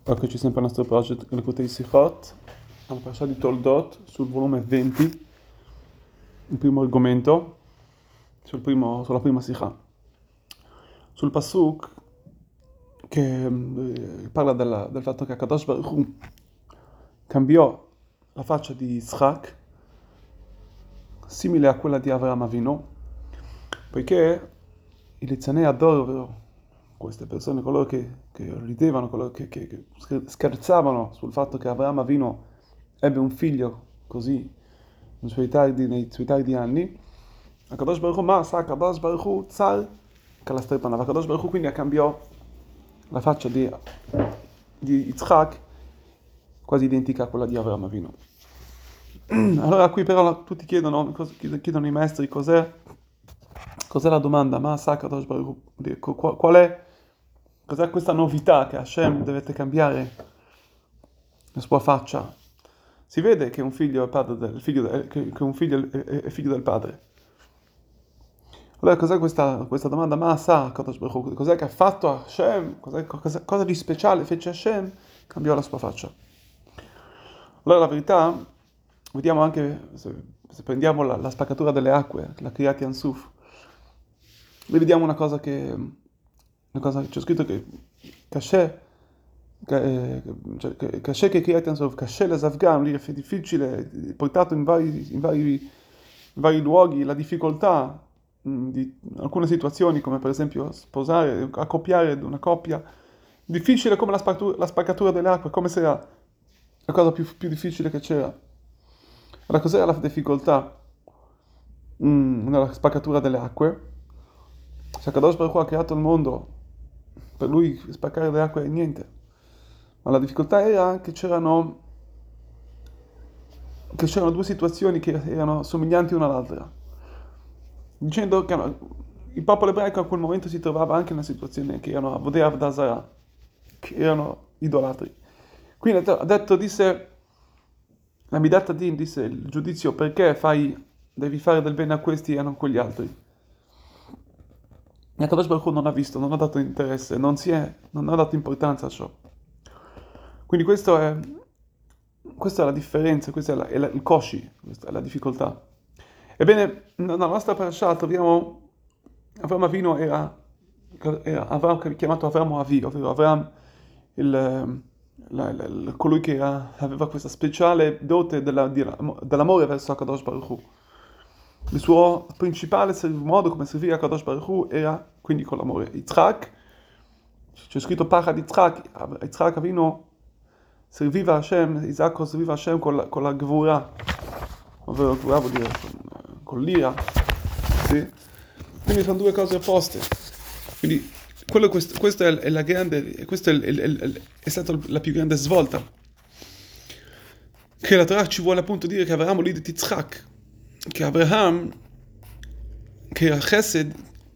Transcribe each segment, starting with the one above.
Eccoci sempre al nostro project Lekutei Sichot, alla parasha di Toldot, sul volume 20, il primo argomento, sulla prima Sikha. Sul Pasuk che parla del fatto che Akadosh Baruch Hu cambiò la faccia di Yitzhak simile a quella di Avraham Avinu, poiché i Lizzanei Ador, ovvero queste persone, coloro che ridevano, coloro che scherzavano sul fatto che Avraham Avinu ebbe un figlio così nei suoi tardi anni, Akadosh Baruch Hu, ma sa Akadosh Baruch Hu, Tsar, Kalastrepanav, Akadosh Baruch Hu quindi cambiò la faccia di Yitzhak quasi identica a quella di Avraham Avinu. Allora qui però tutti chiedono i maestri cos'è la domanda, ma sa Kadosh Baruch Hu, cos'è questa novità che Hashem dovete cambiare la sua faccia? Si vede che un figlio è padre che un figlio è figlio del padre. Allora cos'è questa domanda? Ma sa Kadosh Baruch Hu, cos'è che ha fatto Hashem? Cosa di speciale fece Hashem? Cambiò la sua faccia. Allora la verità, vediamo anche, se prendiamo la spaccatura delle acque, la Kriyat Yansuf, lì vediamo una cosa c'è scritto che Kasher, Kasher che Kriyat Yansuf, Kasher le Zavgam, lì è difficile, portato in vari luoghi, la difficoltà di alcune situazioni, come per esempio sposare, accoppiare una coppia, difficile come la spaccatura delle acque, come se era la cosa più difficile che c'era. Allora, cos'era la difficoltà nella spaccatura delle acque? Se Akadosh Baruch Hu ha creato il mondo, per lui spaccare le acque è niente. Ma la difficoltà era che c'erano due situazioni che erano somiglianti una all'altra. Dicendo che il popolo ebraico a quel momento si trovava anche in una situazione che erano Avodei Avodah Zarah, che erano idolatri. Quindi disse la Midat Hadin, disse il giudizio, perché devi fare del bene a questi e non a quegli altri. E Akadosh Baruch Hu non ha visto, non ha dato interesse, non ha dato importanza a ciò. Quindi questa è la differenza, questo è il koshi, questa è la difficoltà. Ebbene, nella nostra parasha troviamo Avraham Avinu era Avram, chiamato Avram Avi, ovvero Avram colui che aveva questa speciale dote dell'amore verso Akadosh Baruch Hu. Il suo principale modo come servire a Kadosh Baruch Hu era quindi con l'amore. Yitzhak, c'è scritto Pachad Yitzhak Avinu serviva Hashem, Isacco serviva Hashem con la Gvura, ovvero Gvura vuol dire con l'ira, sì? Quindi sono due cose opposte. Quindi questa è la grande, questa è stata la più grande svolta. Che la Torah ci vuole appunto dire che Avraham lì di Yitzhak, che Abraham, che a Chesed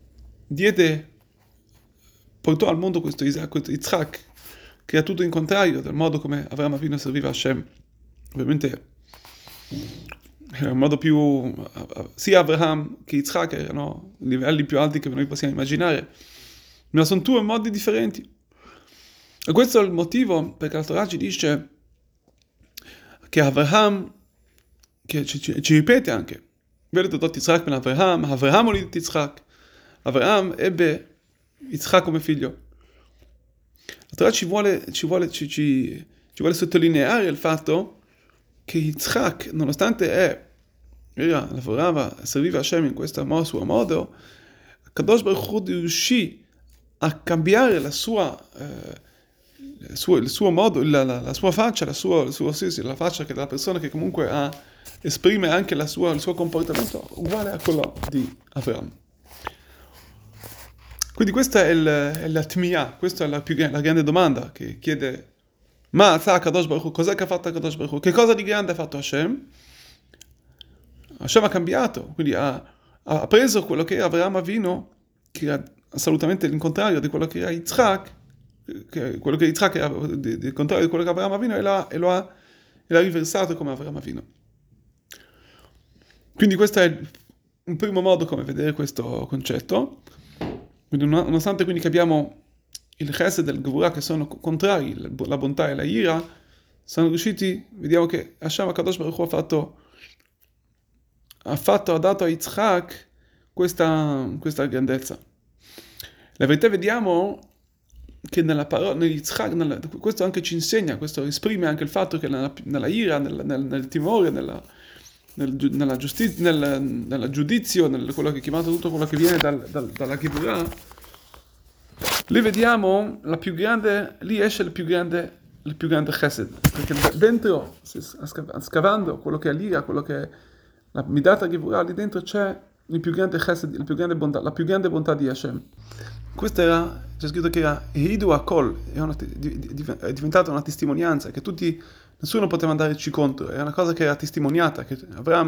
portò al mondo questo Yitzhak, che era tutto in contrario del modo come Avraham Avinu serviva a Hashem. Ovviamente era un modo più, sia Abraham che Yitzhak erano livelli più alti che noi possiamo immaginare, ma sono due modi differenti. E questo è il motivo perché la Torah ci dice che Abraham, che ci ripete anche, vedete dot Yitzhak ben Avraham olid Yitzhak, Avraham ebbe Yitzhak come figlio. La Torah ci vuole sottolineare il fatto che Yitzhak, nonostante lavorava, serviva Hashem in questo suo modo, Kadosh Baruch Hu riuscì a cambiare il suo modo, la sua faccia, la faccia della persona che comunque esprime anche il suo comportamento uguale a quello di Avraham. Quindi questa è la tmiyah, questa è la grande domanda che chiede ma sa Kadosh Baruch Hu, cos'è che ha fatto Kadosh Baruch Hu? Che cosa di grande ha fatto Hashem? Hashem ha cambiato, quindi ha preso quello che era Avraham Avinu, che era assolutamente il contrario di quello che era Yitzhak, quello che Yitzhak era il contrario di quello che Avraham Avinu, e l'ha riversato come Avraham Avinu. Quindi questo è un primo modo come vedere questo concetto. Quindi, nonostante quindi che abbiamo il chesed e il gevurah, che sono contrari, la bontà e la ira, sono riusciti, vediamo che Hashem HaKadosh Baruch Hu ha dato a Yitzhak questa grandezza. La verità vediamo che nella parola, negli Yitzhak, questo anche ci insegna, questo esprime anche il fatto che nella ira, nel timore, nella giustizia, nel giudizio, quello che è chiamato tutto quello che viene dalla Gevurah, lì vediamo lì esce il più grande chesed, perché dentro, scavando quello che è l'ira, quello che è la midata Gevurah, lì dentro c'è il più grande chesed, la più grande bontà di Hashem. C'è scritto che era Hidu Akol, è diventata una testimonianza, che nessuno poteva andarci contro, era una cosa che era testimoniata, che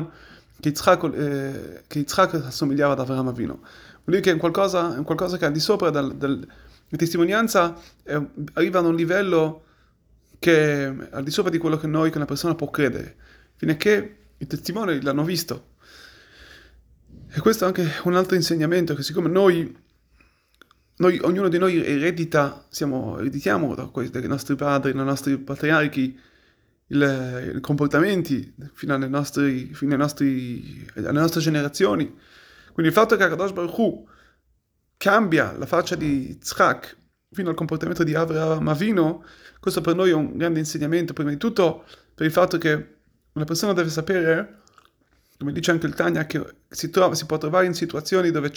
Yitzhak assomigliava ad Avraham Avinu. Vuol dire che è un qualcosa che è al di sopra la testimonianza, arriva ad un livello che è al di sopra di quello che una persona può credere, fino a che i testimoni l'hanno visto. E questo è anche un altro insegnamento, che siccome ognuno di noi ereditiamo dai nostri padri, dai nostri patriarchi, i comportamenti fino alle nostre generazioni. Quindi il fatto che Kadosh Baruch Hu cambia la faccia di Yitzhak fino al comportamento di Avraham Avinu, questo per noi è un grande insegnamento, prima di tutto per il fatto che una persona deve sapere, come dice anche il Tanya, che si può trovare in situazioni dove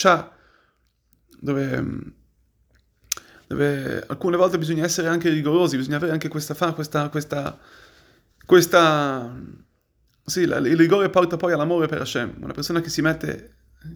alcune volte bisogna essere anche rigorosi, bisogna avere anche il rigore porta poi all'amore per Hashem. Una persona che si mette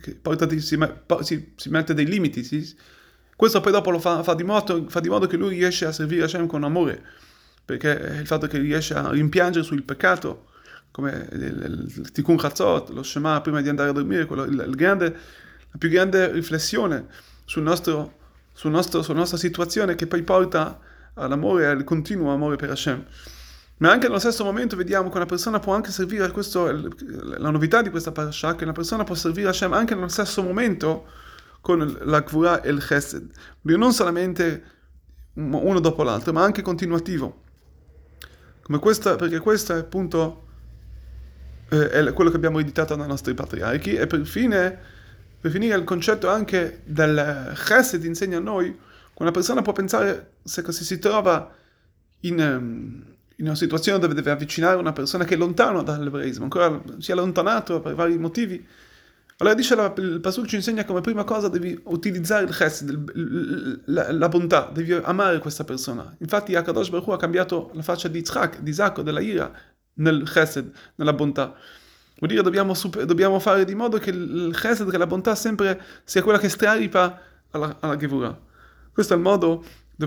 dei limiti, questo poi dopo lo fa di modo che lui riesce a servire Hashem con amore, perché il fatto che riesce a rimpiangere sul peccato, come il Tikkun Chatzot, lo Shema prima di andare a dormire, la più grande riflessione sulla nostra situazione, che poi porta all'amore, al continuo amore per Hashem. Ma anche nello stesso momento vediamo che una persona può anche servire a la novità di questa parasha, che una persona può servire Hashem anche nello stesso momento con la Gvurah e il Chesed. Non solamente uno dopo l'altro, ma anche continuativo. Perché questo è appunto è quello che abbiamo ereditato dai nostri patriarchi. E per finire il concetto anche del Chesed insegna a noi che una persona può pensare, se si trova in una situazione dove deve avvicinare una persona che è lontana dall'ebraismo, ancora si è allontanato per vari motivi, allora dice il Pasuk ci insegna come prima cosa devi utilizzare il chesed, la bontà, devi amare questa persona. Infatti HaKadosh Baruch Hu ha cambiato la faccia di Isacco, della ira, nel chesed, nella bontà. Vuol dire dobbiamo fare di modo che il chesed, che la bontà sempre sia quella che straripa alla Gevurah. Questo è il modo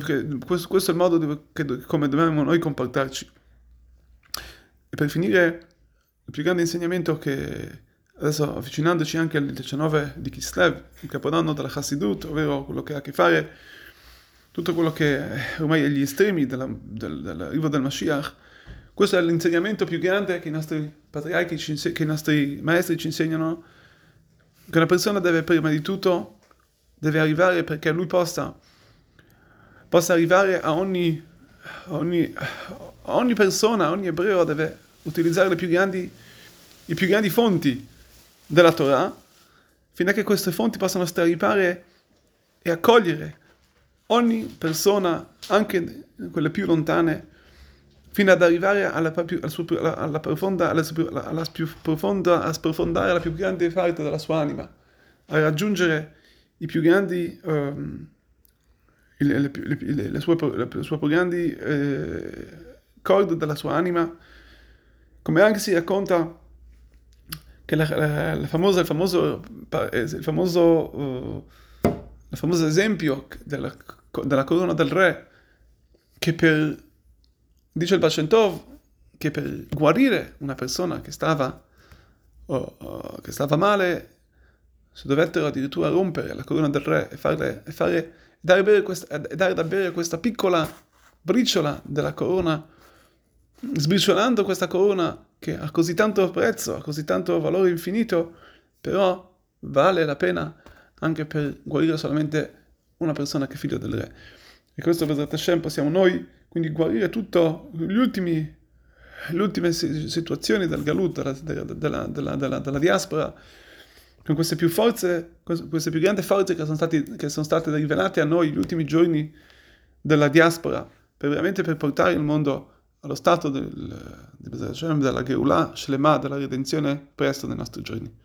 come dobbiamo noi comportarci. E per finire, il più grande insegnamento che adesso, avvicinandoci anche al 19 di Kislev, il capodanno della Chassidut, ovvero quello che ha a che fare tutto quello che ormai è gli estremi dell'arrivo del Mashiach, questo è l'insegnamento più grande che i nostri patriarchi, che i nostri maestri ci insegnano, che una persona deve prima di tutto arrivare, perché lui possa arrivare a ogni persona, a ogni ebreo deve utilizzare i più grandi fonti della Torah, fino a che queste fonti possano straripare e accogliere ogni persona, anche quelle più lontane, fino ad arrivare a sprofondare la più grande parte della sua anima, a raggiungere i più grandi le sue più grandi corde della sua anima, come anche si racconta che il famoso esempio della corona del re, che dice il Baal Shem Tov, che per guarire una persona che stava male si dovettero addirittura rompere la corona del re e dare da bere questa piccola briciola della corona, sbriciolando questa corona che ha così tanto prezzo, ha così tanto valore infinito, però vale la pena anche per guarire solamente una persona che è figlio del re. E questo Bezrat Hashem possiamo noi quindi guarire tutte le ultime situazioni del Galut, della diaspora, con queste più grandi forze che sono state rivelate a noi negli ultimi giorni della diaspora, veramente per portare il mondo allo stato di Bezrat Hashem, della Geulah Shlema, della redenzione presto nei nostri giorni.